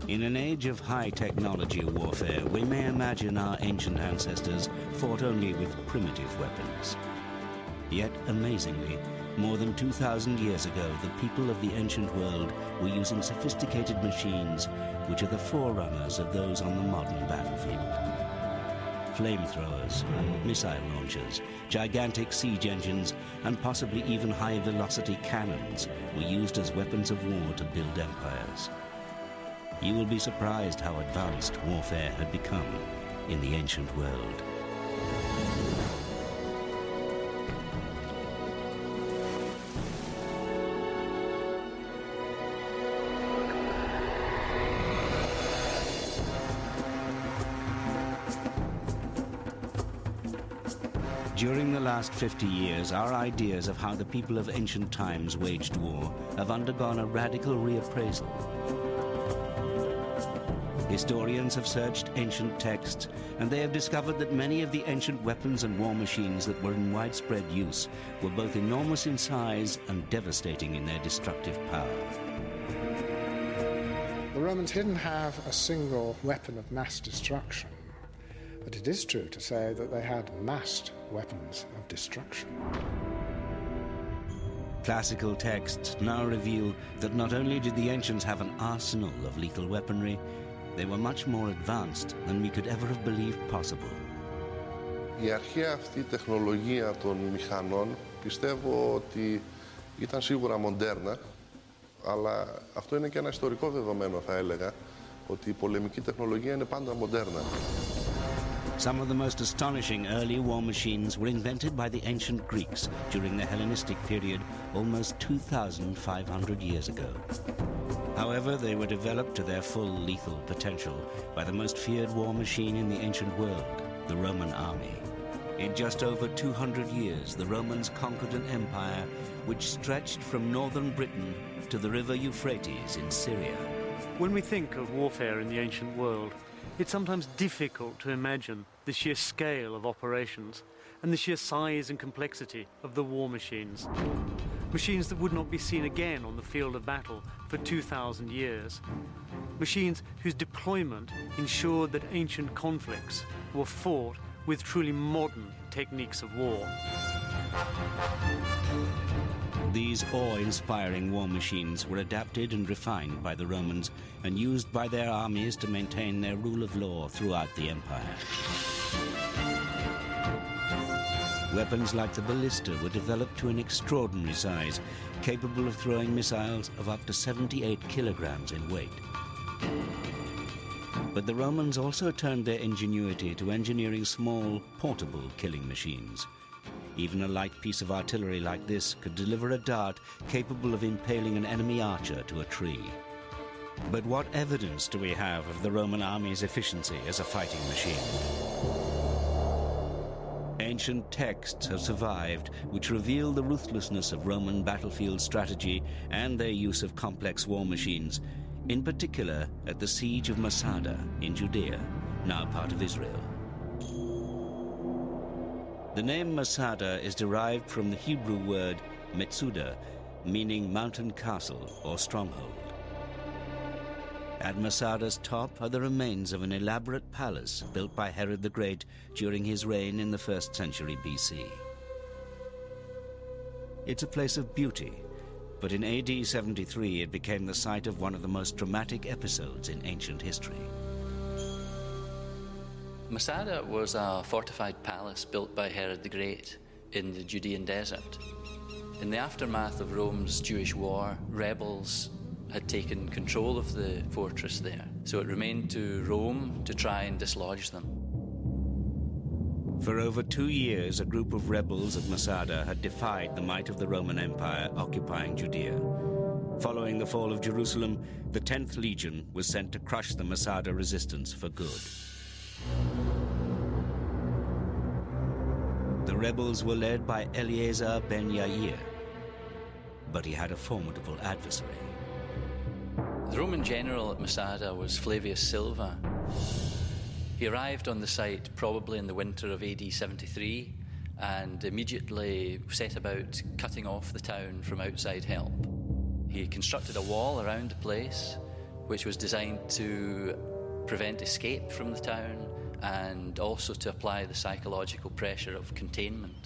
In an age of high technology warfare, we may imagine our ancient ancestors fought only with primitive weapons. Yet, amazingly, more than 2,000 years ago, the people of the ancient world were using sophisticated machines which are the forerunners of those on the modern battlefield. Flamethrowers, missile launchers, gigantic siege engines, and possibly even high-velocity cannons were used as weapons of war to build empires. You will be surprised how advanced warfare had become in the ancient world. During the last 50 years, our ideas of how the people of ancient times waged war have undergone a radical reappraisal. Historians have searched ancient texts, and they have discovered that many of the ancient weapons and war machines that were in widespread use were both enormous in size and devastating in their destructive power. The Romans didn't have a single weapon of mass destruction, but it is true to say that they had massed weapons of destruction. Classical texts now reveal that not only did the ancients have an arsenal of lethal weaponry, they were much more advanced than we could ever have believed possible. Η αρχαία αυτή τεχνολογία των μηχανών πιστεύω ότι ήταν σίγουρα μοντέρνα, αλλά αυτό είναι και ένα ιστορικό δεδομένο, θα έλεγα, ότι η πολεμική τεχνολογία είναι πάντα μοντέρνα. Some of the most astonishing early war machines were invented by the ancient Greeks during the Hellenistic period almost 2,500 years ago. However, they were developed to their full lethal potential by the most feared war machine in the ancient world, the Roman army. In just over 200 years, the Romans conquered an empire which stretched from northern Britain to the river Euphrates in Syria. When we think of warfare in the ancient world, it's sometimes difficult to imagine the sheer scale of operations and the sheer size and complexity of the war machines. Machines that would not be seen again on the field of battle for 2,000 years. Machines whose deployment ensured that ancient conflicts were fought with truly modern techniques of war. These awe-inspiring war machines were adapted and refined by the Romans and used by their armies to maintain their rule of law throughout the empire. Weapons like the ballista were developed to an extraordinary size, capable of throwing missiles of up to 78 kilograms in weight. But the Romans also turned their ingenuity to engineering small, portable killing machines. Even a light piece of artillery like this could deliver a dart capable of impaling an enemy archer to a tree. But what evidence do we have of the Roman army's efficiency as a fighting machine? Ancient texts have survived which reveal the ruthlessness of Roman battlefield strategy and their use of complex war machines, in particular at the siege of Masada in Judea, now part of Israel. The name Masada is derived from the Hebrew word Metsuda, meaning mountain castle or stronghold. At Masada's top are the remains of an elaborate palace built by Herod the Great during his reign in the 1st century BC. It's a place of beauty, but in AD 73 it became the site of one of the most dramatic episodes in ancient history. Masada was a fortified palace built by Herod the Great in the Judean desert. In the aftermath of Rome's Jewish war, rebels had taken control of the fortress there, so it remained to Rome to try and dislodge them. For over 2 years, a group of rebels at Masada had defied the might of the Roman Empire occupying Judea. Following the fall of Jerusalem, the 10th Legion was sent to crush the Masada resistance for good. The rebels were led by Eleazar ben Yair, but he had a formidable adversary. The Roman general at Masada was Flavius Silva. He arrived on the site probably in the winter of AD 73 and immediately set about cutting off the town from outside help. He constructed a wall around the place, which was designed to prevent escape from the town and also to apply the psychological pressure of containment.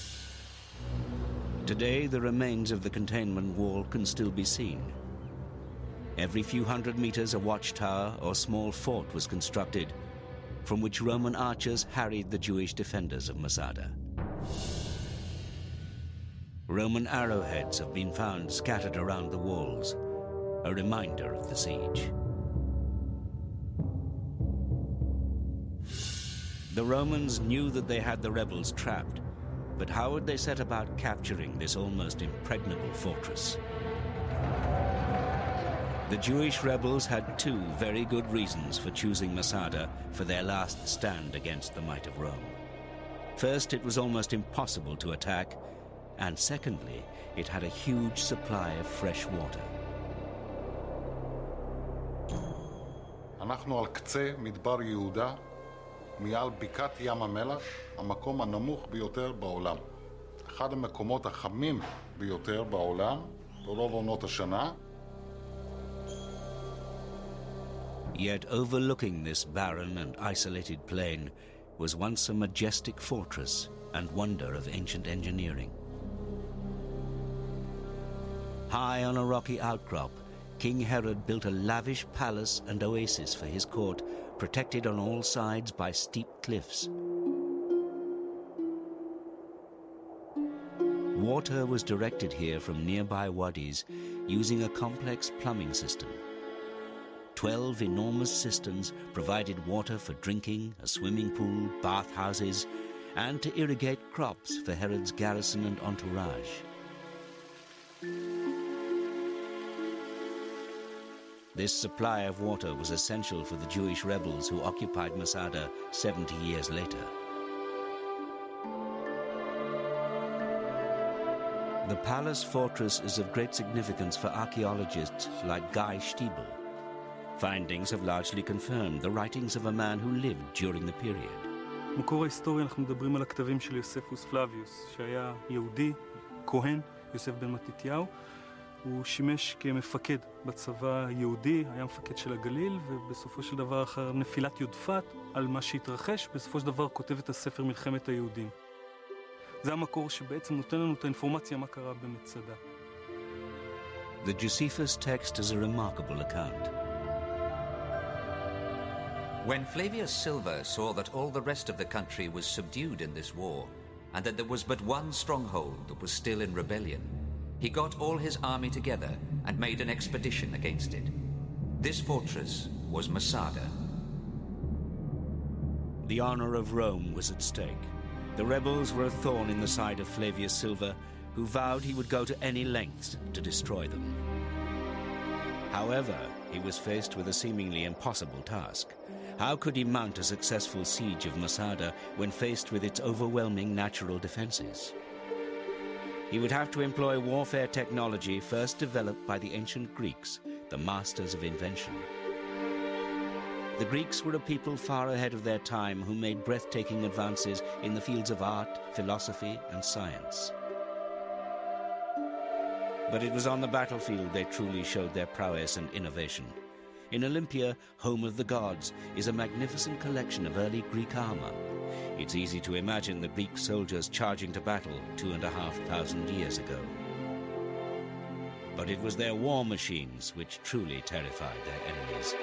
Today, the remains of the containment wall can still be seen. Every few hundred meters, a watchtower or small fort was constructed, from which Roman archers harried the Jewish defenders of Masada. Roman arrowheads have been found scattered around the walls, a reminder of the siege. The Romans knew that they had the rebels trapped, but how would they set about capturing this almost impregnable fortress? The Jewish rebels had two very good reasons for choosing Masada for their last stand against the might of Rome. First, it was almost impossible to attack, and secondly, it had a huge supply of fresh water. אנחנו על קצה מדבר יהודה, מעל בקעת ים המלח, המקום הנמוך ביותר בעולם. אחד המקומות החמים ביותר בעולם, ברוב עונות השנה. Yet overlooking this barren and isolated plain was once a majestic fortress and wonder of ancient engineering. High on a rocky outcrop, King Herod built a lavish palace and oasis for his court, protected on all sides by steep cliffs. Water was directed here from nearby wadis using a complex plumbing system. 12 enormous cisterns provided water for drinking, a swimming pool, bathhouses, and to irrigate crops for Herod's garrison and entourage. This supply of water was essential for the Jewish rebels who occupied Masada 70 years later. The palace fortress is of great significance for archaeologists like Guy Stiebel. Findings have largely confirmed the writings of a man who lived during the period. מקור ההיסטוריה, אנחנו מדברים על הכתבים של יוספוס פלביוס, שהיה יהודי, כהן, יוסף בן מתתיהו. הוא שימש כמפקד בצבא היהודי, היה מפקד של הגליל, ובסופו של דבר אחר נפילת יודפת על מה שהתרחש, בסופו של דבר כותב את הספר מלחמת היהודים. זה המקור שבעצם נותן לנו את האינפורמציה מה קרה במצדה. The Josephus text is a remarkable account. When Flavius Silva saw that all the rest of the country was subdued in this war, and that there was but one stronghold that was still in rebellion, he got all his army together and made an expedition against it. This fortress was Masada. The honor of Rome was at stake. The rebels were a thorn in the side of Flavius Silva, who vowed he would go to any lengths to destroy them. However, he was faced with a seemingly impossible task. How could he mount a successful siege of Masada when faced with its overwhelming natural defenses? He would have to employ warfare technology first developed by the ancient Greeks, the masters of invention. The Greeks were a people far ahead of their time who made breathtaking advances in the fields of art, philosophy, and science. But it was on the battlefield they truly showed their prowess and innovation. In Olympia, home of the gods, is a magnificent collection of early Greek armor. It's easy to imagine the Greek soldiers charging to battle 2,500 years ago. But it was their war machines which truly terrified their enemies.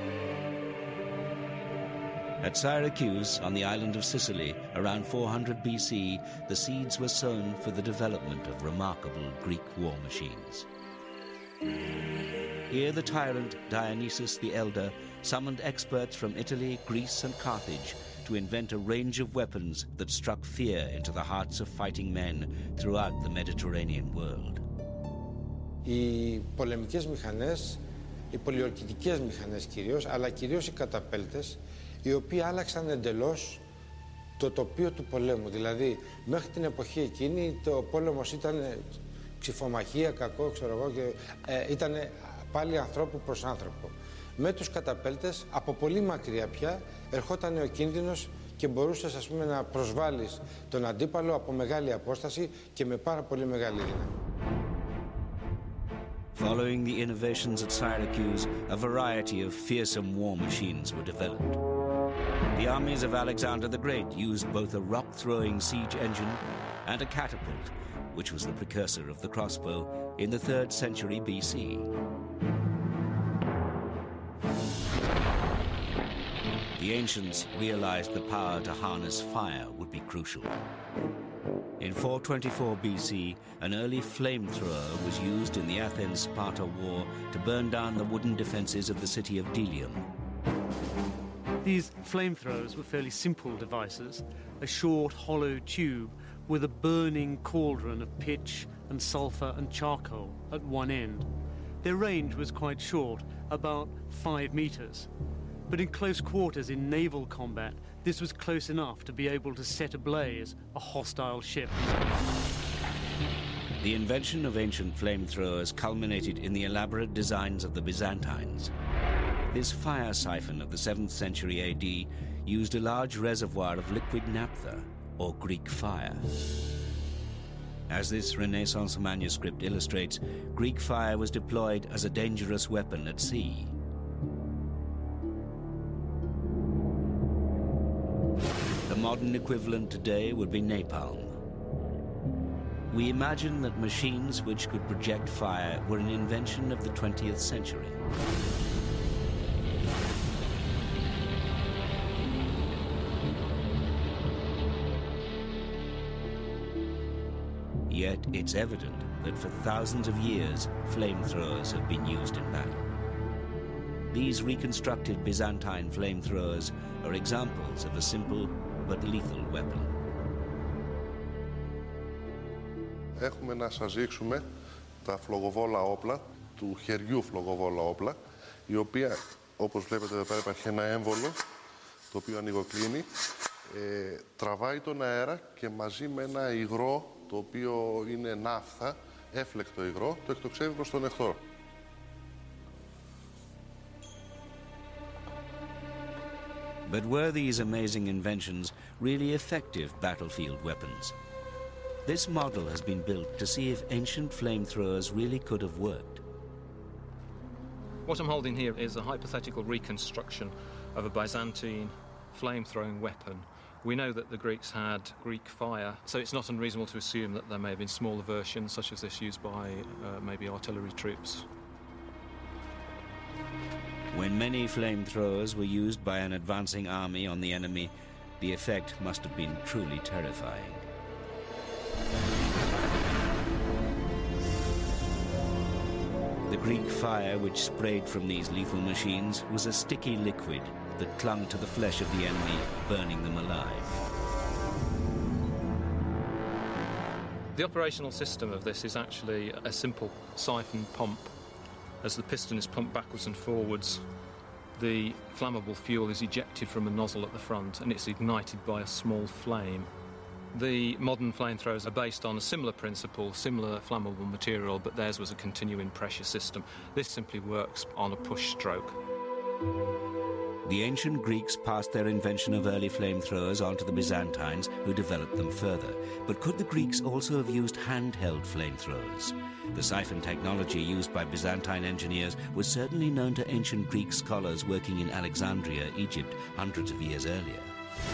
At Syracuse, on the island of Sicily, around 400 BC, the seeds were sown for the development of remarkable Greek war machines. Here the tyrant Dionysus the Elder summoned experts from Italy, Greece and Carthage to invent a range of weapons that struck fear into the hearts of fighting men throughout the Mediterranean world. Οι πολεμικές μηχανές, οι πολιορκητικές μηχανές κυρίως, αλλά κυρίως οι καταπέλτες, οι οποίοι άλλαξαν εντελώς το τοπίο του πολέμου. Δηλαδή, μέχρι την εποχή εκείνη, το πόλεμος ήταν ξυφομαχία, κακό, ξέρω εγώ, και ήταν πάλι ανθρώπου προς άνθρωπο. Με τους καταπέλτες, από πολύ μακριά πια, ερχόταν ο κίνδυνος και μπορούσες, ας πούμε, να προσβάλλεις τον αντίπαλο από μεγάλη απόσταση και με πάρα πολύ μεγάλη δύναμη. Following the innovations at Syracuse, a variety of fearsome war machines were developed. The armies of Alexander the Great used both a rock-throwing siege engine and a catapult, which was the precursor of the crossbow, in the 3rd century BC. The ancients realized the power to harness fire would be crucial. In 424 BC, an early flamethrower was used in the Athens-Sparta war to burn down the wooden defenses of the city of Delium. These flamethrowers were fairly simple devices, a short, hollow tube with a burning cauldron of pitch and sulfur and charcoal at one end. Their range was quite short, about 5 meters. But in close quarters in naval combat, this was close enough to be able to set ablaze a hostile ship. The invention of ancient flamethrowers culminated in the elaborate designs of the Byzantines. This fire siphon of the 7th century AD used a large reservoir of liquid naphtha, or Greek fire. As this Renaissance manuscript illustrates, Greek fire was deployed as a dangerous weapon at sea. The modern equivalent today would be napalm. We imagine that machines which could project fire were an invention of the 20th century. Yet it's evident that for thousands of years, flamethrowers have been used in battle. These reconstructed Byzantine flamethrowers are examples of a simple but lethal weapon. Έχουμε να σας δείξουμε τα φλογοβόλα όπλα, του χεριού φλογοβόλα όπλα, η οποία, όπως βλέπετε εδώ πέρα, υπάρχει ένα έμβολο, το οποίο ανοιγοκλίνει, τραβάει τον αέρα και μαζί με ένα υγρό, το οποίο είναι ναύθα, έφλεκτο υγρό, το εκτοξεύει προς τον εχθρό. But were these amazing inventions really effective battlefield weapons? This model has been built to see if ancient flamethrowers really could have worked. What I'm holding here is a hypothetical reconstruction of a Byzantine flame-throwing weapon. We know that the Greeks had Greek fire, so it's not unreasonable to assume that there may have been smaller versions, such as this, used by maybe artillery troops. When many flamethrowers were used by an advancing army on the enemy, the effect must have been truly terrifying. The Greek fire which sprayed from these lethal machines was a sticky liquid that clung to the flesh of the enemy, burning them alive. The operational system of this is actually a simple siphon pump. As the piston is pumped backwards and forwards, the flammable fuel is ejected from a nozzle at the front and it's ignited by a small flame. The modern flamethrowers are based on a similar principle, similar flammable material, but theirs was a continuing pressure system. This simply works on a push stroke. The ancient Greeks passed their invention of early flamethrowers on to the Byzantines, who developed them further. But could the Greeks also have used handheld flamethrowers? The siphon technology used by Byzantine engineers was certainly known to ancient Greek scholars working in Alexandria, Egypt, hundreds of years earlier.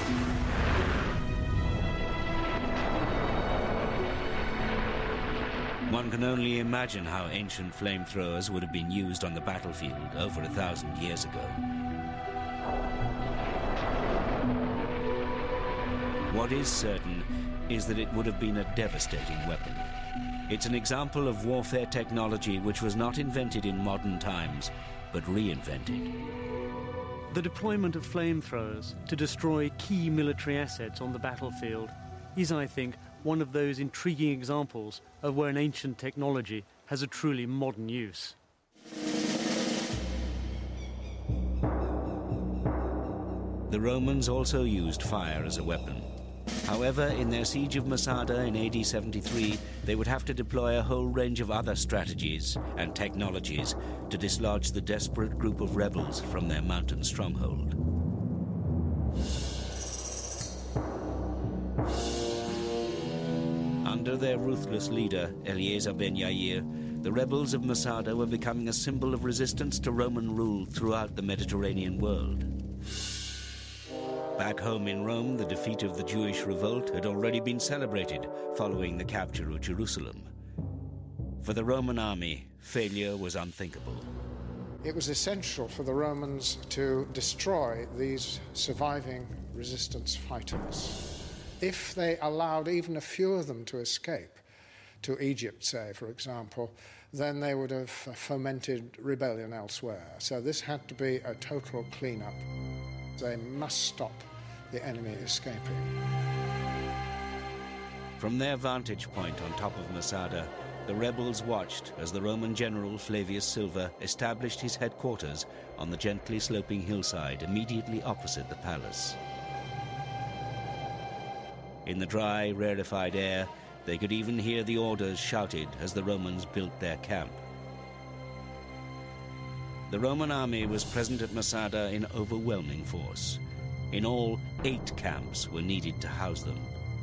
One can only imagine how ancient flamethrowers would have been used on the battlefield over 1,000 years ago. What is certain is that it would have been a devastating weapon. It's an example of warfare technology which was not invented in modern times, but reinvented. The deployment of flamethrowers to destroy key military assets on the battlefield is, I think, one of those intriguing examples of where an ancient technology has a truly modern use. The Romans also used fire as a weapon. However, in their siege of Masada in AD 73, they would have to deploy a whole range of other strategies and technologies to dislodge the desperate group of rebels from their mountain stronghold. Under their ruthless leader, Eleazar ben Yair, the rebels of Masada were becoming a symbol of resistance to Roman rule throughout the Mediterranean world. Back home in Rome, the defeat of the Jewish revolt had already been celebrated following the capture of Jerusalem. For the Roman army, failure was unthinkable. It was essential for the Romans to destroy these surviving resistance fighters. If they allowed even a few of them to escape, to Egypt, say, for example, then they would have fomented rebellion elsewhere. So this had to be a total cleanup. They must stop the enemy escaping. From their vantage point on top of Masada, the rebels watched as the Roman general Flavius Silva established his headquarters on the gently sloping hillside immediately opposite the palace. In the dry, rarefied air, they could even hear the orders shouted as the Romans built their camp. The Roman army was present at Masada in overwhelming force. In all, 8 camps were needed to house them.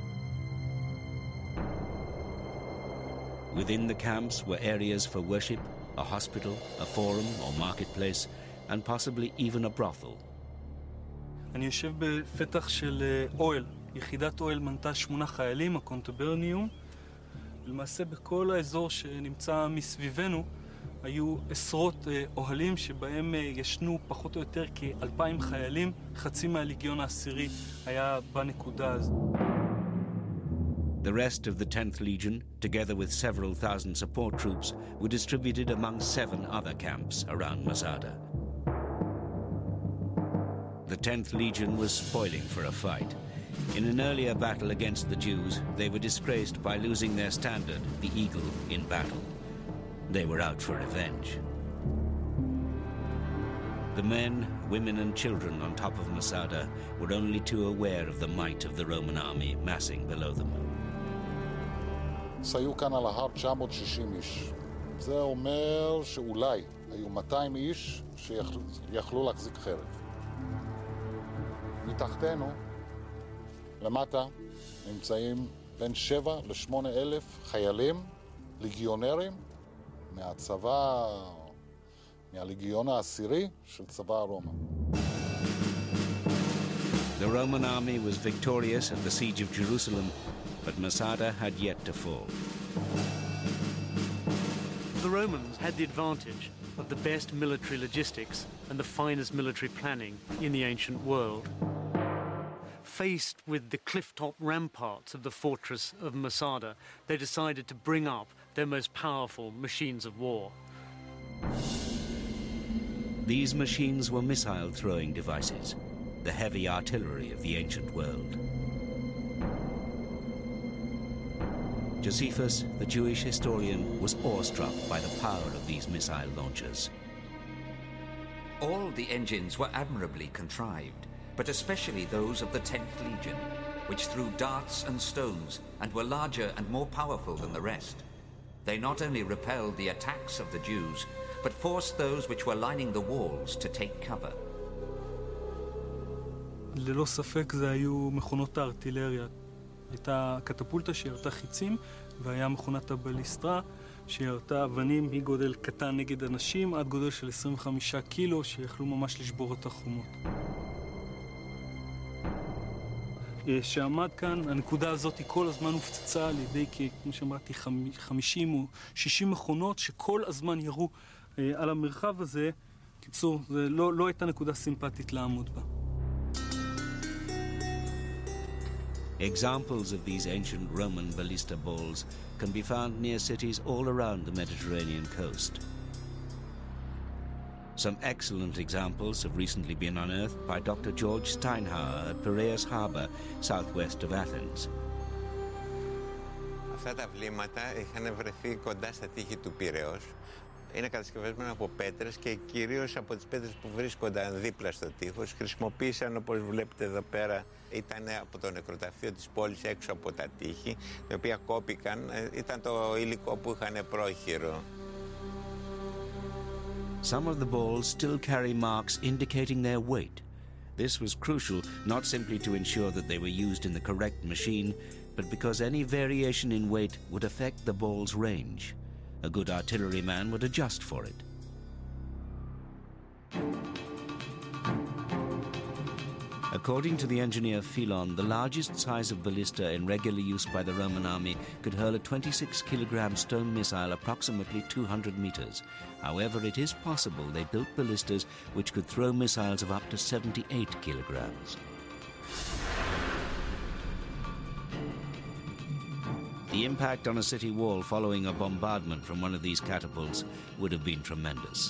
Within the camps were areas for worship, a hospital, a forum or marketplace, and possibly even a brothel. אני יושב בפתח של אוהל. יחידת אוהל מנתה 8 חיילים, הקונטברניום. למעשה בכל האזור שנמצא מסביבנו היו עשרות אוהלים שבהם ישנו פחות או יותר כ-2,000 חיילים. חצי מהליגיון העשירי היה בנקודה הזו. The rest of the 10th Legion, together with several thousand support troops, were distributed among 7 other camps around Masada. The 10th Legion was spoiling for a fight. In an earlier battle against the Jews, they were disgraced by losing their standard, the eagle, in battle. They were out for revenge. The men, women and children on top of Masada were only too aware of the might of the Roman army massing below them. היו כאן על ההר 960 איש. זה אומר שאולי היו 200 איש שיכלו להחזיק חרב. מתחתנו, למטה, נמצאים בין 7 ל-8 אלף חיילים, ליגיונרים, מהצבא, מהליגיון העשירי של צבא הרומא. The Roman army was victorious at the siege of Jerusalem, but Masada had yet to fall. The Romans had the advantage of the best military logistics and the finest military planning in the ancient world. Faced with the cliff-top ramparts of the fortress of Masada, they decided to bring up their most powerful machines of war. These machines were missile-throwing devices, the heavy artillery of the ancient world. Josephus, the Jewish historian, was awestruck by the power of these missile launchers. All the engines were admirably contrived, but especially those of the 10th Legion, which threw darts and stones and were larger and more powerful than the rest. They not only repelled the attacks of the Jews, but forced those which were lining the walls to take cover. ללא ספק זה היו מכונות הארטילריה. הייתה קטפולטה שירתה חיצים, והיה מכונת הבליסטרה שירתה אבנים מגודל קטן נגד אנשים עד גודל של 25 קילו שיכלו ממש לשבור את החומות. שעמד כאן, הנקודה הזאת כל הזמן הופצצה על ידי, כמו שאמרתי, 50 או 60 מכונות שכל הזמן ירו על המרחב הזה. קיצור, זה לא הייתה נקודה סימפטית לעמוד בה. Examples of these ancient Roman ballista balls can be found near cities all around the Mediterranean coast. Some excellent examples have recently been unearthed by Dr. George Steinhauer at Piraeus Harbour, southwest of Athens. Αυτά τα βλήματα είχαν βρεθεί κοντά στα τείχη του Πειραιώς. Είναι κατασκευασμένα από πέτρες και κυρίως από τις πέτρες που βρίσκονταν δίπλα στο τείχος. Χρησιμοποίησαν, όπως βλέπετε εδώ πέρα, ήταν από το νεκροταφείο της πόλης έξω από τα τείχη, τα οποία κόπηκαν. Ήταν το υλικό που είχαν πρόχειρο. Some of the balls still carry marks indicating their weight. This was crucial not simply to ensure that they were used in the correct machine, but because any variation in weight would affect the ball's range. A good artilleryman would adjust for it. According to the engineer Philon, the largest size of ballista in regular use by the Roman army could hurl a 26-kilogram stone missile approximately 200 meters. However, it is possible they built ballistas which could throw missiles of up to 78 kilograms. The impact on a city wall following a bombardment from one of these catapults would have been tremendous.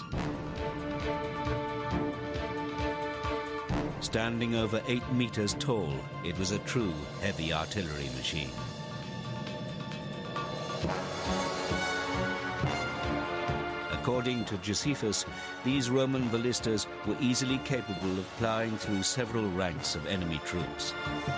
Standing over 8 meters tall, it was a true heavy artillery machine. According to Josephus, these Roman ballistas were easily capable of ploughing through several ranks of enemy troops.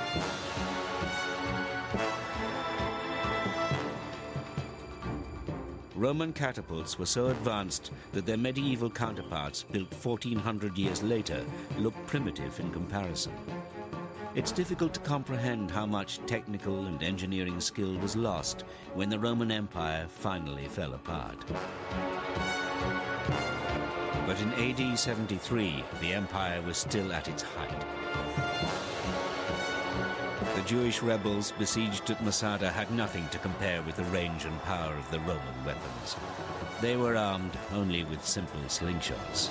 Roman catapults were so advanced that their medieval counterparts, built 1400 years later, looked primitive in comparison. It's difficult to comprehend how much technical and engineering skill was lost when the Roman Empire finally fell apart. But in AD 73, the empire was still at its height. The Jewish rebels besieged at Masada had nothing to compare with the range and power of the Roman weapons. They were armed only with simple slingshots.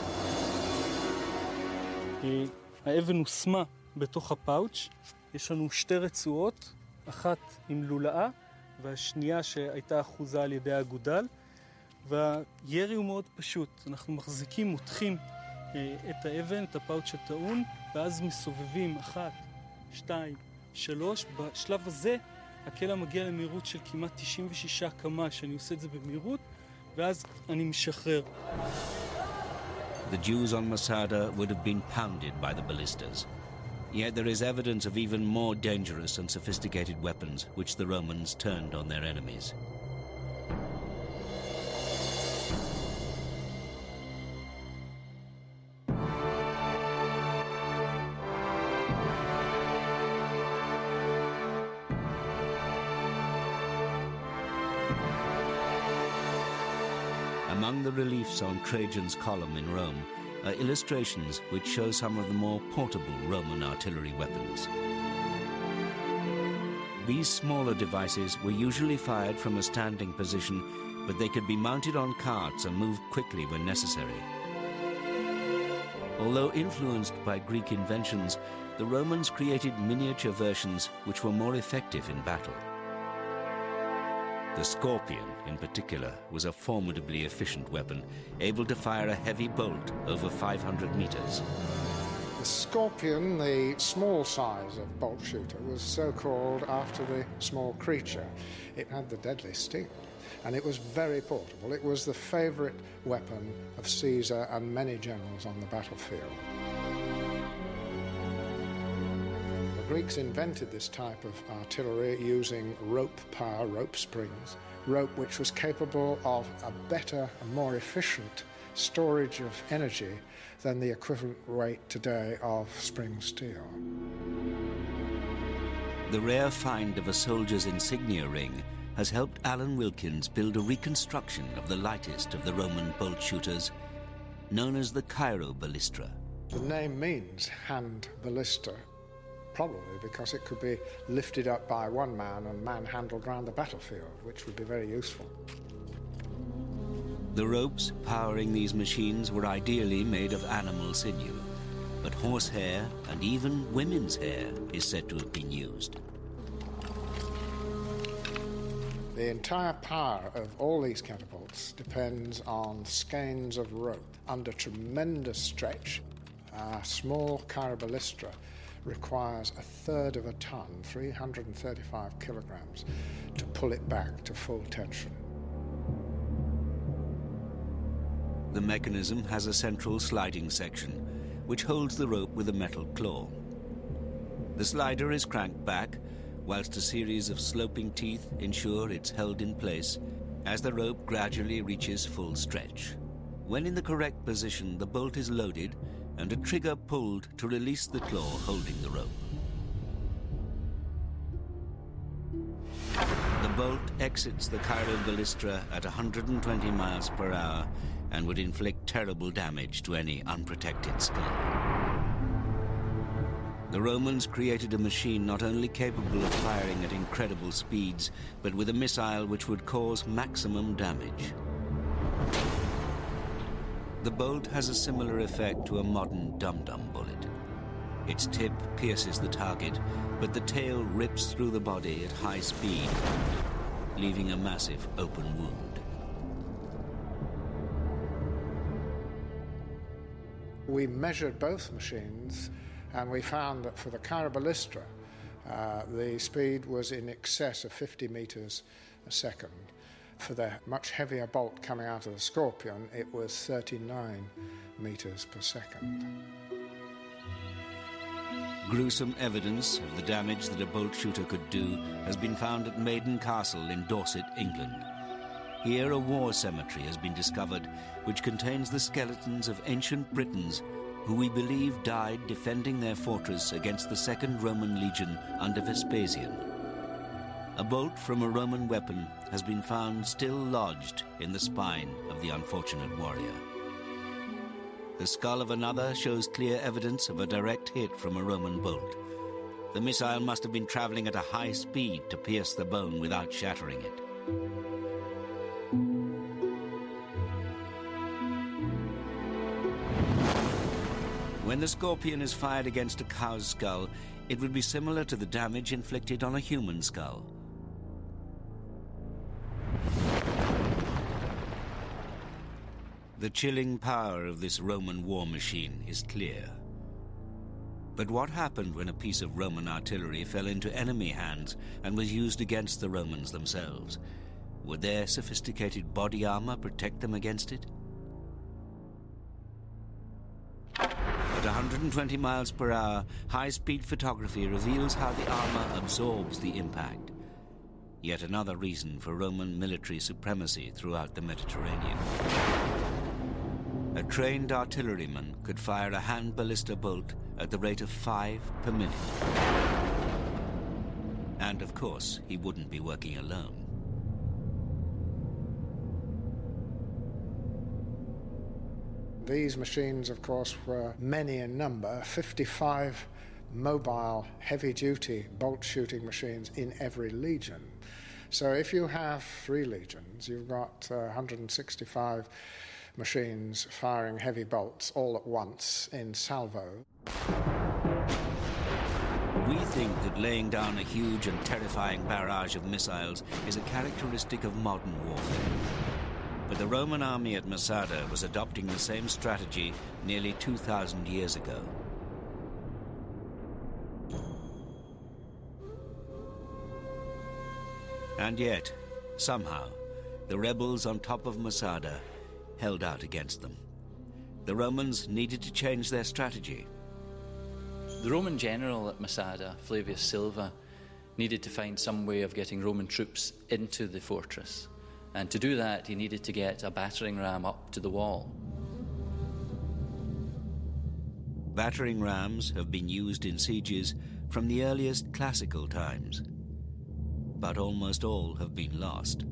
האבן הושמה בתוך הפאוץ'. יש לנו שתי רצועות, אחת עם לולאה והשנייה שהייתה אחוזה על ידי האגודל. והירי הוא מאוד פשוט. אנחנו מחזיקים, מותחים את האבן, את הפאוץ' הטעון, ואז מסובבים 1, 2, 3. בשלב הזה הקלע מגיע למהירות של כמעט 96 קמ"ש. אני עושה את זה במהירות, ואז אני משחרר. The Jews on Masada would have been pounded by the ballistas. Yet there is evidence of even more dangerous and sophisticated weapons which the Romans turned on their enemies. Among the reliefs on Trajan's column in Rome are illustrations which show some of the more portable Roman artillery weapons. These smaller devices were usually fired from a standing position, but they could be mounted on carts and moved quickly when necessary. Although influenced by Greek inventions, the Romans created miniature versions which were more effective in battle. The Scorpion, in particular, was a formidably efficient weapon, able to fire a heavy bolt over 500 meters. The Scorpion, the small size of bolt shooter, was so called after the small creature. It had the deadly sting, and it was very portable. It was the favorite weapon of Caesar and many generals on the battlefield. The Greeks invented this type of artillery using rope power, rope springs, rope which was capable of a better and more efficient storage of energy than the equivalent weight today of spring steel. The rare find of a soldier's insignia ring has helped Alan Wilkins build a reconstruction of the lightest of the Roman bolt shooters, known as the Cairo ballistra. The name means hand ballista, probably because it could be lifted up by one man and manhandled around the battlefield, which would be very useful. The ropes powering these machines were ideally made of animal sinew, but horsehair and even women's hair is said to have been used. The entire power of all these catapults depends on skeins of rope under tremendous stretch. A small Cairo ballistra requires a third of a ton, 335 kilograms, to pull it back to full tension. The mechanism has a central sliding section, which holds the rope with a metal claw. The slider is cranked back, whilst a series of sloping teeth ensure it's held in place as the rope gradually reaches full stretch. When in the correct position, the bolt is loaded and a trigger pulled to release the claw holding the rope. The bolt exits the Cairo Ballistra at 120 miles per hour and would inflict terrible damage to any unprotected skull. The Romans created a machine not only capable of firing at incredible speeds, but with a missile which would cause maximum damage. The bolt has a similar effect to a modern dum-dum bullet. Its tip pierces the target, but the tail rips through the body at high speed, leaving a massive open wound. We measured both machines, and we found that for the Cairo Ballistra, the speed was in excess of 50 meters a second. For the much heavier bolt coming out of the Scorpion, it was 39 meters per second. Gruesome evidence of the damage that a bolt shooter could do has been found at Maiden Castle in Dorset, England. Here a war cemetery has been discovered which contains the skeletons of ancient Britons who we believe died defending their fortress against the Second Roman Legion under Vespasian. A bolt from a Roman weapon has been found still lodged in the spine of the unfortunate warrior. The skull of another shows clear evidence of a direct hit from a Roman bolt. The missile must have been traveling at a high speed to pierce the bone without shattering it. When the Scorpion is fired against a cow's skull, it would be similar to the damage inflicted on a human skull. The chilling power of this Roman war machine is clear. But what happened when a piece of Roman artillery fell into enemy hands and was used against the Romans themselves? Would their sophisticated body armor protect them against it? At 120 miles per hour, high-speed photography reveals how the armor absorbs the impact. Yet another reason for Roman military supremacy throughout the Mediterranean. A trained artilleryman could fire a hand ballista bolt at the rate of 5 per minute. And of course, he wouldn't be working alone. These machines, of course, were many in number, 55 mobile, heavy-duty bolt-shooting machines in every legion. So if you have 3 legions, you've got 165 machines firing heavy bolts all at once in salvo. We think that laying down a huge and terrifying barrage of missiles is a characteristic of modern warfare. But the Roman army at Masada was adopting the same strategy nearly 2,000 years ago. And yet, somehow, the rebels on top of Masada held out against them. The Romans needed to change their strategy. The Roman general at Masada, Flavius Silva, needed to find some way of getting Roman troops into the fortress. And to do that, he needed to get a battering ram up to the wall. Battering rams have been used in sieges from the earliest classical times, but almost all have been lost.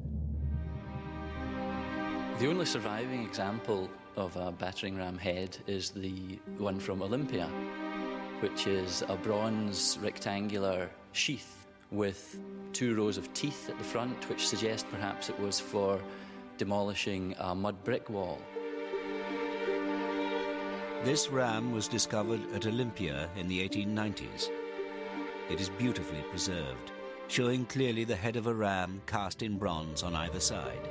The only surviving example of a battering ram head is the one from Olympia, which is a bronze rectangular sheath with 2 rows of teeth at the front, which suggest perhaps it was for demolishing a mud brick wall. This ram was discovered at Olympia in the 1890s. It is beautifully preserved, showing clearly the head of a ram cast in bronze on either side.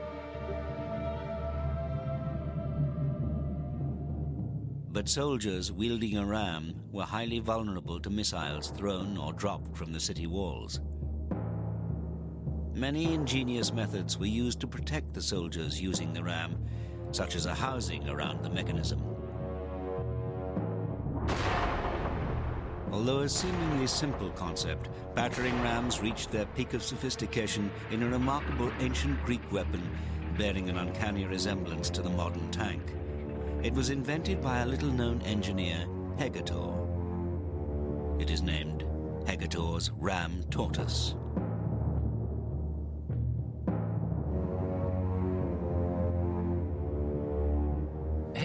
But soldiers wielding a ram were highly vulnerable to missiles thrown or dropped from the city walls. Many ingenious methods were used to protect the soldiers using the ram, such as a housing around the mechanism. Although a seemingly simple concept, battering rams reached their peak of sophistication in a remarkable ancient Greek weapon bearing an uncanny resemblance to the modern tank. It was invented by a little-known engineer, Hegetor. It is named Hegetor's Ram Tortoise.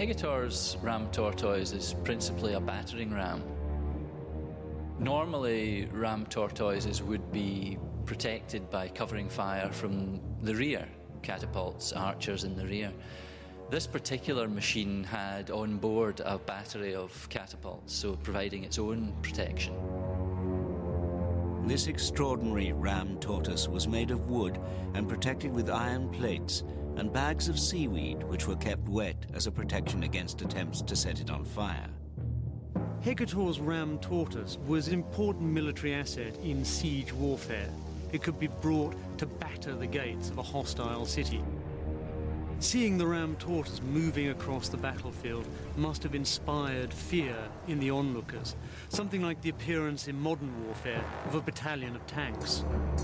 Hegetor's ram tortoise is principally a battering ram. Normally, ram tortoises would be protected by covering fire from the rear, catapults, archers in the rear. This particular machine had on board a battery of catapults, so providing its own protection. This extraordinary ram tortoise was made of wood and protected with iron plates and bags of seaweed which were kept wet as a protection against attempts to set it on fire. Hegetor's ram tortoise was an important military asset in siege warfare. It could be brought to batter the gates of a hostile city. Seeing the ram tortoise moving across the battlefield must have inspired fear in the onlookers, something like the appearance in modern warfare of a battalion of tanks.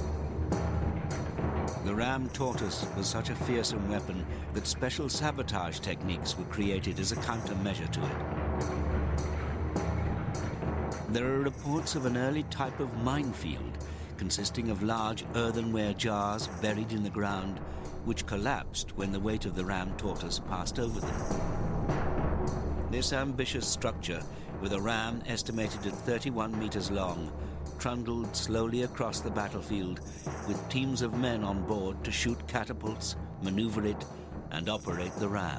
The ram tortoise was such a fearsome weapon that special sabotage techniques were created as a countermeasure to it. There are reports of an early type of minefield consisting of large earthenware jars buried in the ground which collapsed when the weight of the ram tortoise passed over them. This ambitious structure, with a ram estimated at 31 meters long, trundled slowly across the battlefield with teams of men on board to shoot catapults, maneuver it, and operate the ram.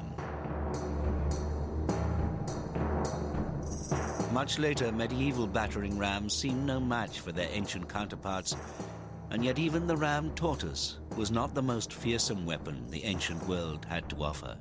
Much later, medieval battering rams seemed no match for their ancient counterparts, and yet even the ram tortoise was not the most fearsome weapon the ancient world had to offer.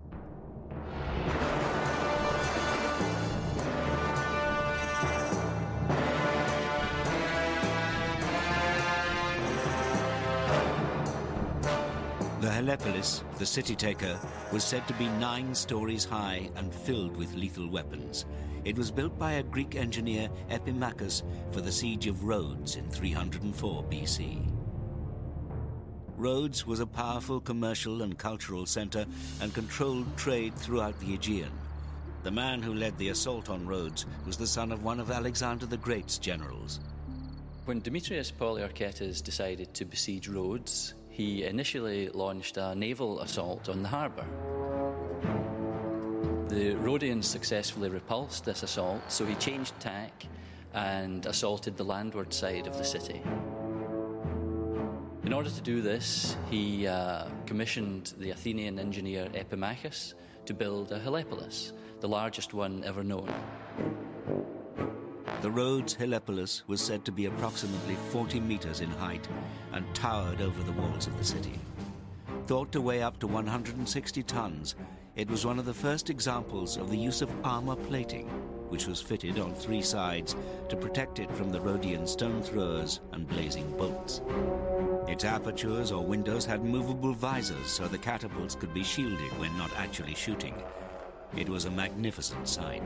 The Helepolis, the city-taker, was said to be 9 stories high and filled with lethal weapons. It was built by a Greek engineer, Epimachus, for the siege of Rhodes in 304 BC. Rhodes was a powerful commercial and cultural center and controlled trade throughout the Aegean. The man who led the assault on Rhodes was the son of one of Alexander the Great's generals. When Demetrius Poliorcetes decided to besiege Rhodes, he initially launched a naval assault on the harbour. The Rhodians successfully repulsed this assault, so he changed tack and assaulted the landward side of the city. In order to do this, he commissioned the Athenian engineer Epimachus to build a Helepolis, the largest one ever known. The Rhodes Helepolis was said to be approximately 40 meters in height and towered over the walls of the city. Thought to weigh up to 160 tons, it was one of the first examples of the use of armor plating, which was fitted on 3 sides to protect it from the Rhodian stone throwers and blazing bolts. Its apertures or windows had movable visors so the catapults could be shielded when not actually shooting. It was a magnificent sight.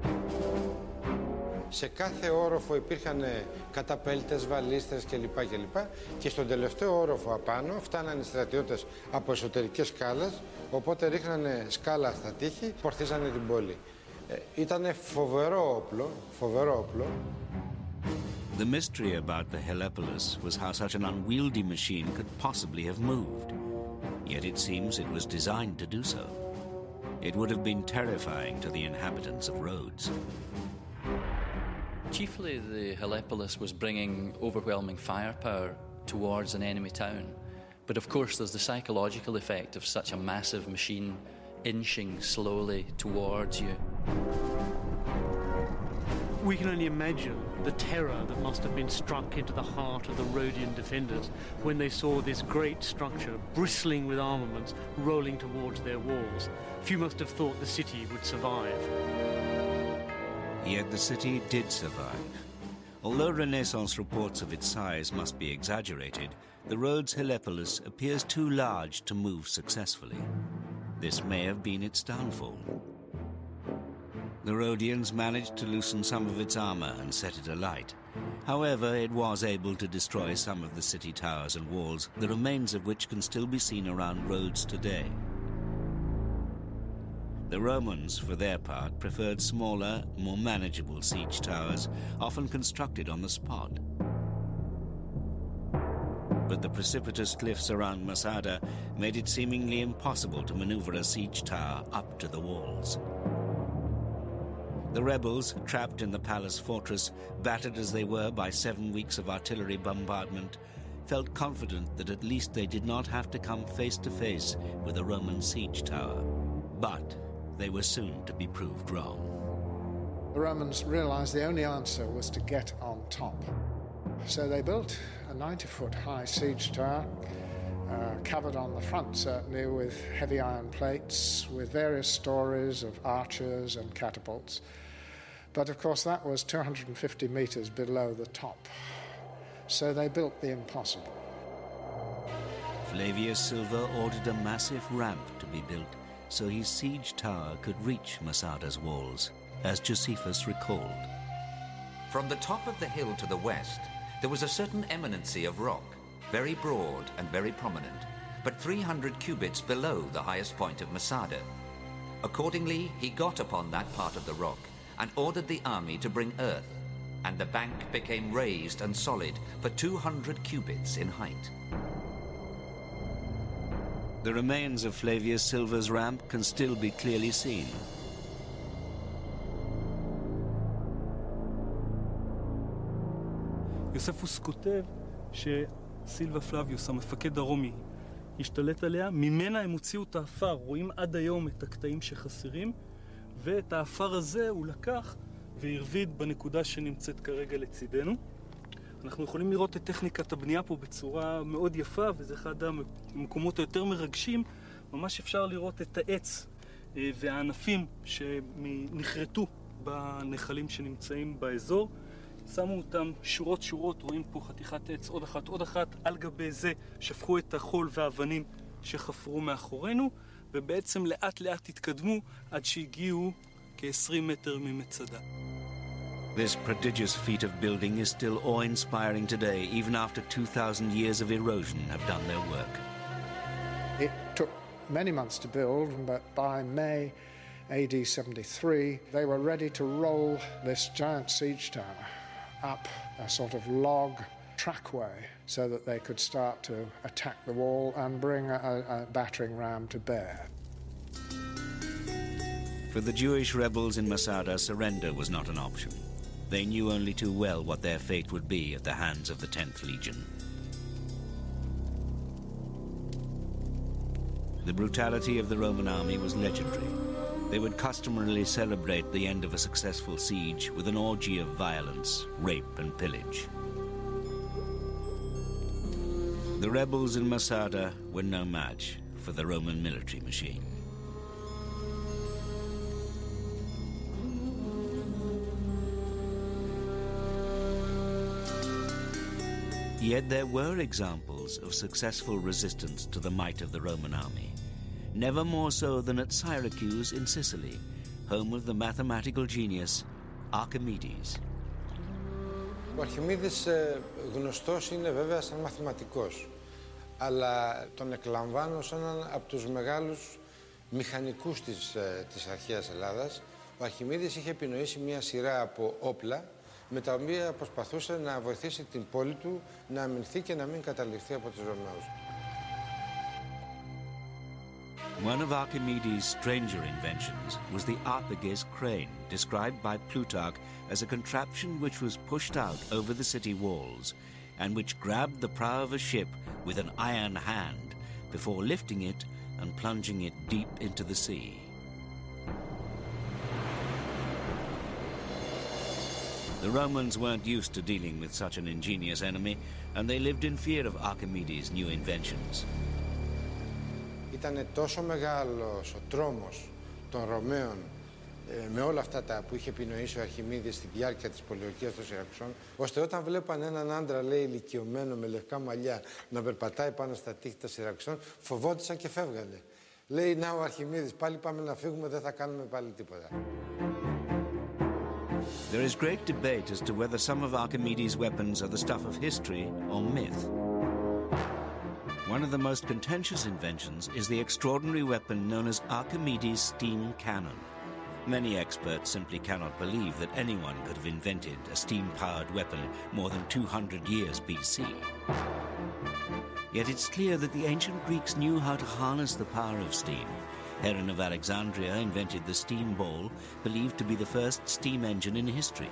Σε κάθε όροφο υπήρχαν καταπέλτες, βαλίστες κλπ. Και στον τελευταίο όροφο απάνω φτάνανε οι στρατιώτες από εσωτερικές σκάλες, οπότε ρίχνανε σκάλα στα τείχη, πορθίζανε την πόλη. Ήτανε φοβερό όπλο. The mystery about the Helepolis was how such an unwieldy machine could possibly have moved. Yet it seems it was designed to do so. It would have been terrifying to the inhabitants of Rhodes. Chiefly, the Helepolis was bringing overwhelming firepower towards an enemy town. But of course, there's the psychological effect of such a massive machine inching slowly towards you. We can only imagine the terror that must have been struck into the heart of the Rhodian defenders when they saw this great structure bristling with armaments rolling towards their walls. Few must have thought the city would survive. Yet the city did survive. Although Renaissance reports of its size must be exaggerated, the Rhodes Helepolis appears too large to move successfully. This may have been its downfall. The Rhodians managed to loosen some of its armor and set it alight. However, it was able to destroy some of the city towers and walls, the remains of which can still be seen around Rhodes today. The Romans, for their part, preferred smaller, more manageable siege towers, often constructed on the spot. but the precipitous cliffs around Masada made it seemingly impossible to maneuver a siege tower up to the walls. The rebels, trapped in the palace fortress, battered as they were by 7 weeks of artillery bombardment, felt confident that at least they did not have to come face to face with a Roman siege tower. But they were soon to be proved wrong. The Romans realized the only answer was to get on top. So they built a 90-foot high siege tower, covered on the front certainly with heavy iron plates, with various stories of archers and catapults. But of course that was 250 meters below the top. So they built the impossible. Flavius Silva ordered a massive ramp to be built so his siege tower could reach Masada's walls, as Josephus recalled. From the top of the hill to the west, there was a certain eminency of rock, very broad and very prominent, but 300 cubits below the highest point of Masada. Accordingly, he got upon that part of the rock and ordered the army to bring earth, and the bank became raised and solid for 200 cubits in height. The remains of Flavius Silva's ramp can still be clearly seen. יוספוס כותב שסילבה פלביוס, המפקד הרומי, השתלט עליה, ממנה הם הוציאו את האפר, רואים עד היום את הקטעים שחסרים, ואת האפר הזה הוא לקח והרביד בנקודה שנמצאת כרגע לצידנו. אנחנו יכולים לראות את טכניקת הבנייה פה בצורה מאוד יפה, וזה אחד המקומות היותר מרגשים. ממש אפשר לראות את העץ והענפים שנחרטו בנחלים שנמצאים באזור. שמו אותם שורות שורות, רואים פה חתיכת עץ, עוד אחת, על גבי זה שפכו את החול והאבנים שחפרו מאחורינו, ובעצם לאט לאט התקדמו עד שהגיעו כ-20 מטר ממצדה. This prodigious feat of building is still awe-inspiring today, even after 2,000 years of erosion have done their work. It took many months to build, but by May AD 73, they were ready to roll this giant siege tower up a sort of log trackway so that they could start to attack the wall and bring a battering ram to bear. For the Jewish rebels in Masada, surrender was not an option. They knew only too well what their fate would be at the hands of the 10th Legion. The brutality of the Roman army was legendary. They would customarily celebrate the end of a successful siege with an orgy of violence, rape, and pillage. The rebels in Masada were no match for the Roman military machine. Yet there were examples of successful resistance to the might of the Roman army, never more so than at Syracuse in Sicily, home of the mathematical genius Archimedes. Ο Αρχιμίδης γνωστός είναι βέβαια σαν μαθηματικός, αλλά τον εκλαμβάνω σαν έναν από τους μεγάλους μηχανικούς της αρχαίας Ελλάδας. Ο Αρχιμίδης είχε επινοήσει μια σειρά από όπλα με τα οποία προσπαθούσε να βοηθήσει την πόλη του να αμυνθεί και να μην καταληφθεί από τους Ρωμαίους. One of Archimedes' stranger inventions was the Arpages crane, described by Plutarch as a contraption which was pushed out over the city walls and which grabbed the prow of a ship with an iron hand before lifting it and plunging it deep into the sea. The Romans weren't used to dealing with such an ingenious enemy, and they lived in fear of Archimedes' new inventions. Ήταν τόσο μεγάλος ο τρόμος των Ρωμαίων με όλα αυτά τα που είχε επινοήσει ο Αρχιμίδης στη διάρκεια της πολιορκίας των Σιρακουσών, ώστε όταν βλέπαν έναν άντρα, λέει, ηλικιωμένο με λευκά μαλλιά να περπατάει πάνω στα τείχη των Σιρακουσών, φοβόντουσαν και φεύγανε. Λέει, να ο Αρχιμίδης, πάλι πάμε να φύγουμε, δεν θα κάνουμε πάλι τίποτα. There is great debate as to whether some of Archimedes' weapons are the stuff of history or myth. One of the most contentious inventions is the extraordinary weapon known as Archimedes' steam cannon. Many experts simply cannot believe that anyone could have invented a steam-powered weapon more than 200 years BC. Yet it's clear that the ancient Greeks knew how to harness the power of steam. Heron of Alexandria invented the steam ball, believed to be the first steam engine in history.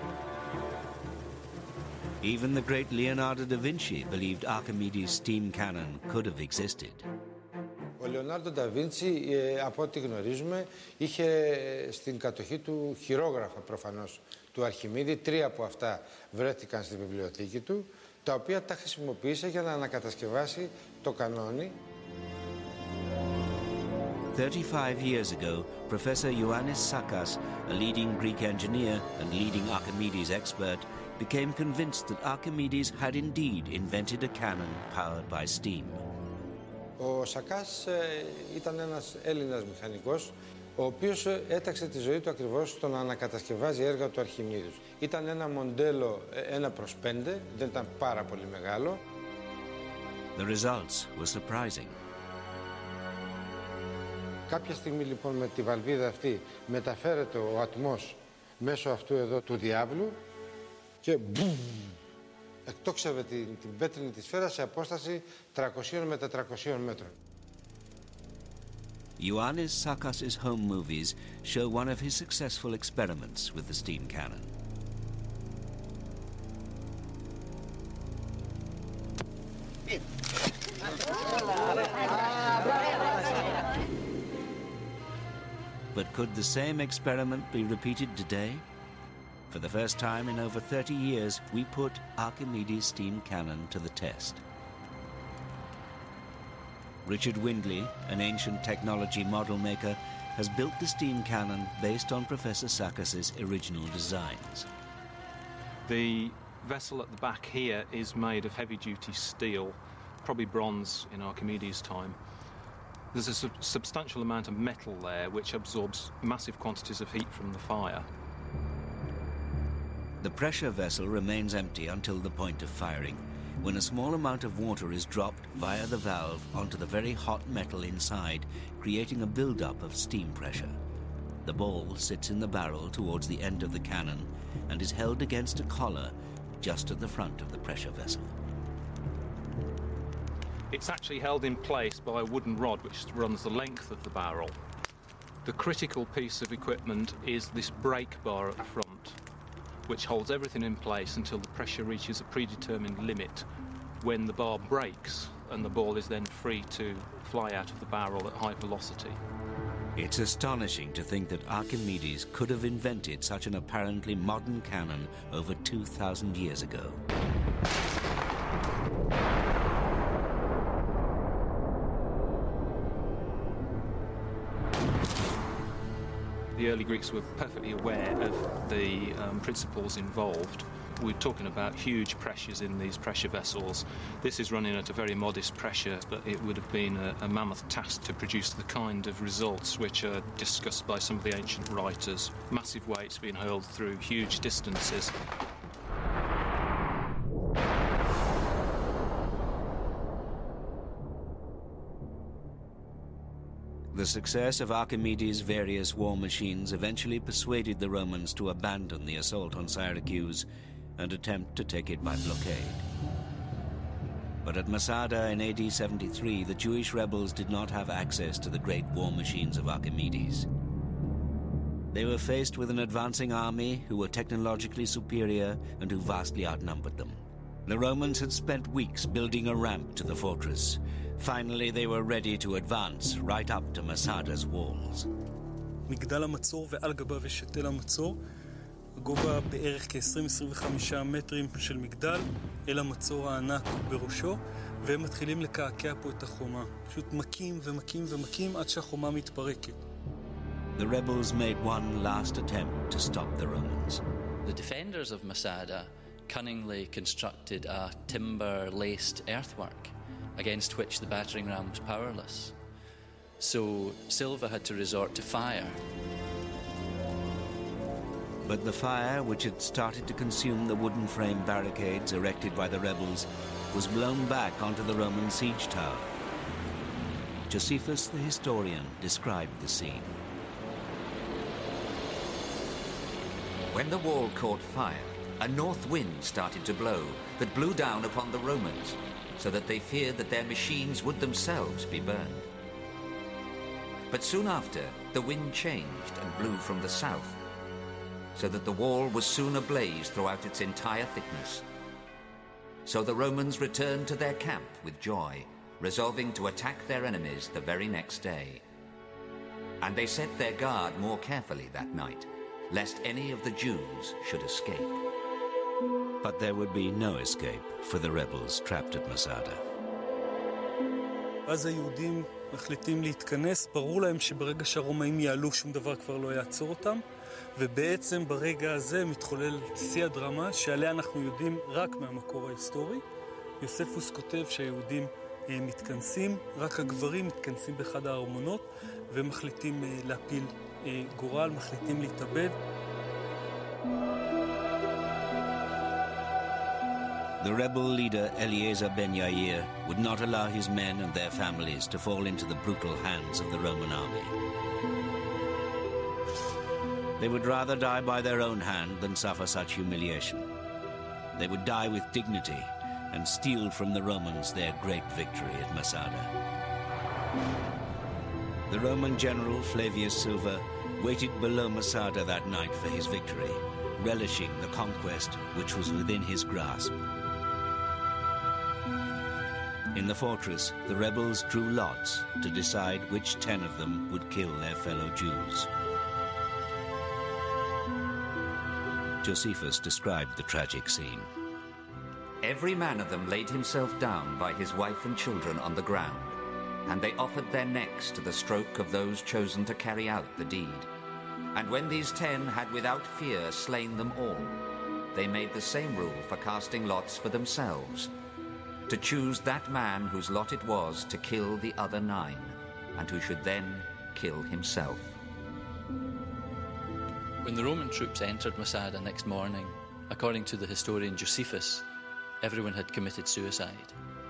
Even the great Leonardo da Vinci believed Archimedes' steam cannon could have existed. Ο Λεωνάρντο ντα Βίντσι, από ό,τι γνωρίζουμε, είχε στην κατοχή του χειρόγραφα προφανώς του Αρχιμίδη. 3 από αυτά βρέθηκαν στη βιβλιοθήκη του, τα οποία τα χρησιμοποίησε για να ανακατασκευάσει το κανόνι. 35 years ago, Professor Ioannis Sakas, a leading Greek engineer and leading Archimedes expert, became convinced that Archimedes had indeed invented a cannon powered by steam. Ο Σακάς ήταν ένας Έλληνας μηχανικός, ο οποίος έταξε τη ζωή του ακριβώς στο να ανακατασκευάζει έργα του Αρχιμίδους. Ήταν ένα μοντέλο 1/5, δεν ήταν πάρα πολύ μεγάλο. The results were surprising. Κάποια στιγμή λοιπόν με τη βαλβίδα αυτή μεταφέρεται ο ατμός μέσω αυτού εδώ του διάβλου και μπουμ, εκτόξευε την πέτρινη τη σφαίρα σε απόσταση 300 με 400 μέτρων. Ioannis Sakas's home movies show one of his successful experiments with the steam cannon. But could the same experiment be repeated today? For the first time in over 30 years, we put Archimedes' steam cannon to the test. Richard Windley, an ancient technology model maker, has built the steam cannon based on Professor Sakas's original designs. The vessel at the back here is made of heavy-duty steel, probably bronze in Archimedes' time. There's a substantial amount of metal there which absorbs massive quantities of heat from the fire. The pressure vessel remains empty until the point of firing, when a small amount of water is dropped via the valve onto the very hot metal inside, creating a build-up of steam pressure. The ball sits in the barrel towards the end of the cannon and is held against a collar just at the front of the pressure vessel. It's actually held in place by a wooden rod which runs the length of the barrel. The critical piece of equipment is this brake bar at the front, which holds everything in place until the pressure reaches a predetermined limit, when the bar breaks and the ball is then free to fly out of the barrel at high velocity. It's astonishing to think that Archimedes could have invented such an apparently modern cannon over 2,000 years ago. The early Greeks were perfectly aware of the principles involved. We're talking about huge pressures in these pressure vessels. This is running at a very modest pressure, but it would have been a mammoth task to produce the kind of results which are discussed by some of the ancient writers. Massive weights being hurled through huge distances. The success of Archimedes' various war machines eventually persuaded the Romans to abandon the assault on Syracuse and attempt to take it by blockade. But at Masada in AD 73, the Jewish rebels did not have access to the great war machines of Archimedes. They were faced with an advancing army who were technologically superior and who vastly outnumbered them. The Romans had spent weeks building a ramp to the fortress. Finally, they were ready to advance right up to Masada's walls. מגדל המצור ועל גביו יש שתל המצור. הגובה בערך כ-20-25 מטרים של מגדל, אל המצור הענק בראשו, והם מתחילים לקעקע פה את החומה. פשוט מכים ומכים ומכים עד שהחומה מתפרקת. The rebels made one last attempt to stop the Romans. The defenders of Masada cunningly constructed a timber-laced earthwork against which the battering ram was powerless. So Silva had to resort to fire. But the fire, which had started to consume the wooden frame barricades erected by the rebels, was blown back onto the Roman siege tower. Josephus the historian described the scene. When the wall caught fire, a north wind started to blow that blew down upon the Romans. so that they feared that their machines would themselves be burned. But soon after, the wind changed and blew from the south, so that the wall was soon ablaze throughout its entire thickness. So the Romans returned to their camp with joy, resolving to attack their enemies the very next day. And they set their guard more carefully that night, lest any of the Jews should escape. But there would be no escape for the rebels trapped at Masada. אז היהודים מחליטים להתכנס, ברור להם שברגע שהרומאים יעלו שום דבר כבר לא יעצור אותם, ובעצם ברגע הזה מתחולל שיא הדרמה שעליה אנחנו יודעים רק מהמקור ההיסטורי. יוספוס כותב שהיהודים מתכנסים, רק הגברים מתכנסים באחד הארמונות ומחליטים להפיל גורל, מחליטים להתאבד. The rebel leader Eleazar ben Yair would not allow his men and their families to fall into the brutal hands of the Roman army. They would rather die by their own hand than suffer such humiliation. They would die with dignity and steal from the Romans their great victory at Masada. The Roman general Flavius Silva waited below Masada that night for his victory, relishing the conquest which was within his grasp. In the fortress, the rebels drew lots to decide which 10 of them would kill their fellow Jews. Josephus described the tragic scene. Every man of them laid himself down by his wife and children on the ground, and they offered their necks to the stroke of those chosen to carry out the deed. And when these 10 had without fear slain them all, they made the same rule for casting lots for themselves, to choose that man whose lot it was to kill the other 9, and who should then kill himself. When the Roman troops entered Masada next morning, according to the historian Josephus, everyone had committed suicide.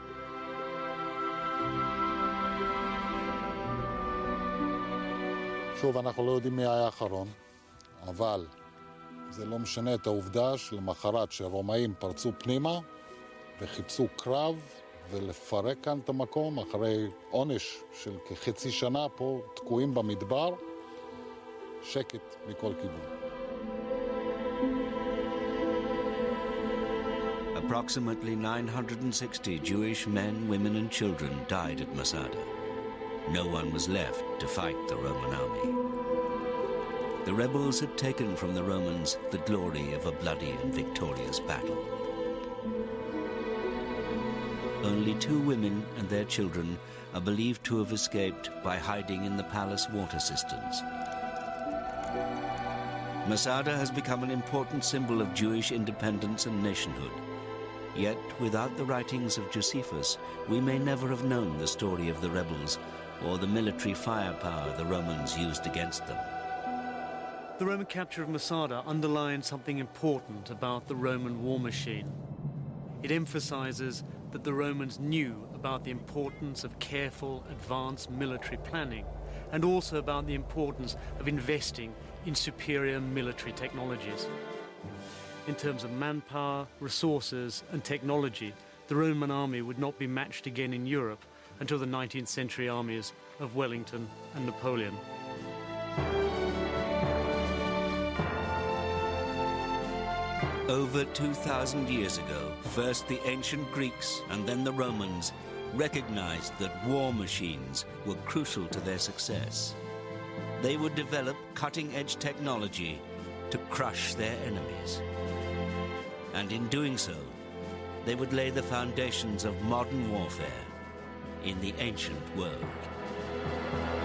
שוב, אנחנו לא יודעים מי היה האחרון, אבל זה לא משנה את העובדה שלמחרת שהרומאים פרצו פנימה וחיפשו קרב ולפרק כאן את המקום אחרי עונש של כחצי שנה פה תקועים במדבר, שקט מכל כיוון. Approximately 960 Jewish men, women and children died at Masada. No one was left to fight the Roman army. The rebels had taken from the Romans the glory of a bloody and victorious battle. Only 2 women and their children are believed to have escaped by hiding in the palace water cisterns. Masada has become an important symbol of Jewish independence and nationhood. Yet, without the writings of Josephus, we may never have known the story of the rebels or the military firepower the Romans used against them. The Roman capture of Masada underlines something important about the Roman war machine. It emphasizes that the Romans knew about the importance of careful, advanced military planning, and also about the importance of investing in superior military technologies. In terms of manpower, resources, and technology, the Roman army would not be matched again in Europe until the 19th century armies of Wellington and Napoleon. Over 2,000 years ago, first the ancient Greeks and then the Romans recognized that war machines were crucial to their success. They would develop cutting-edge technology to crush their enemies. And in doing so, they would lay the foundations of modern warfare in the ancient world.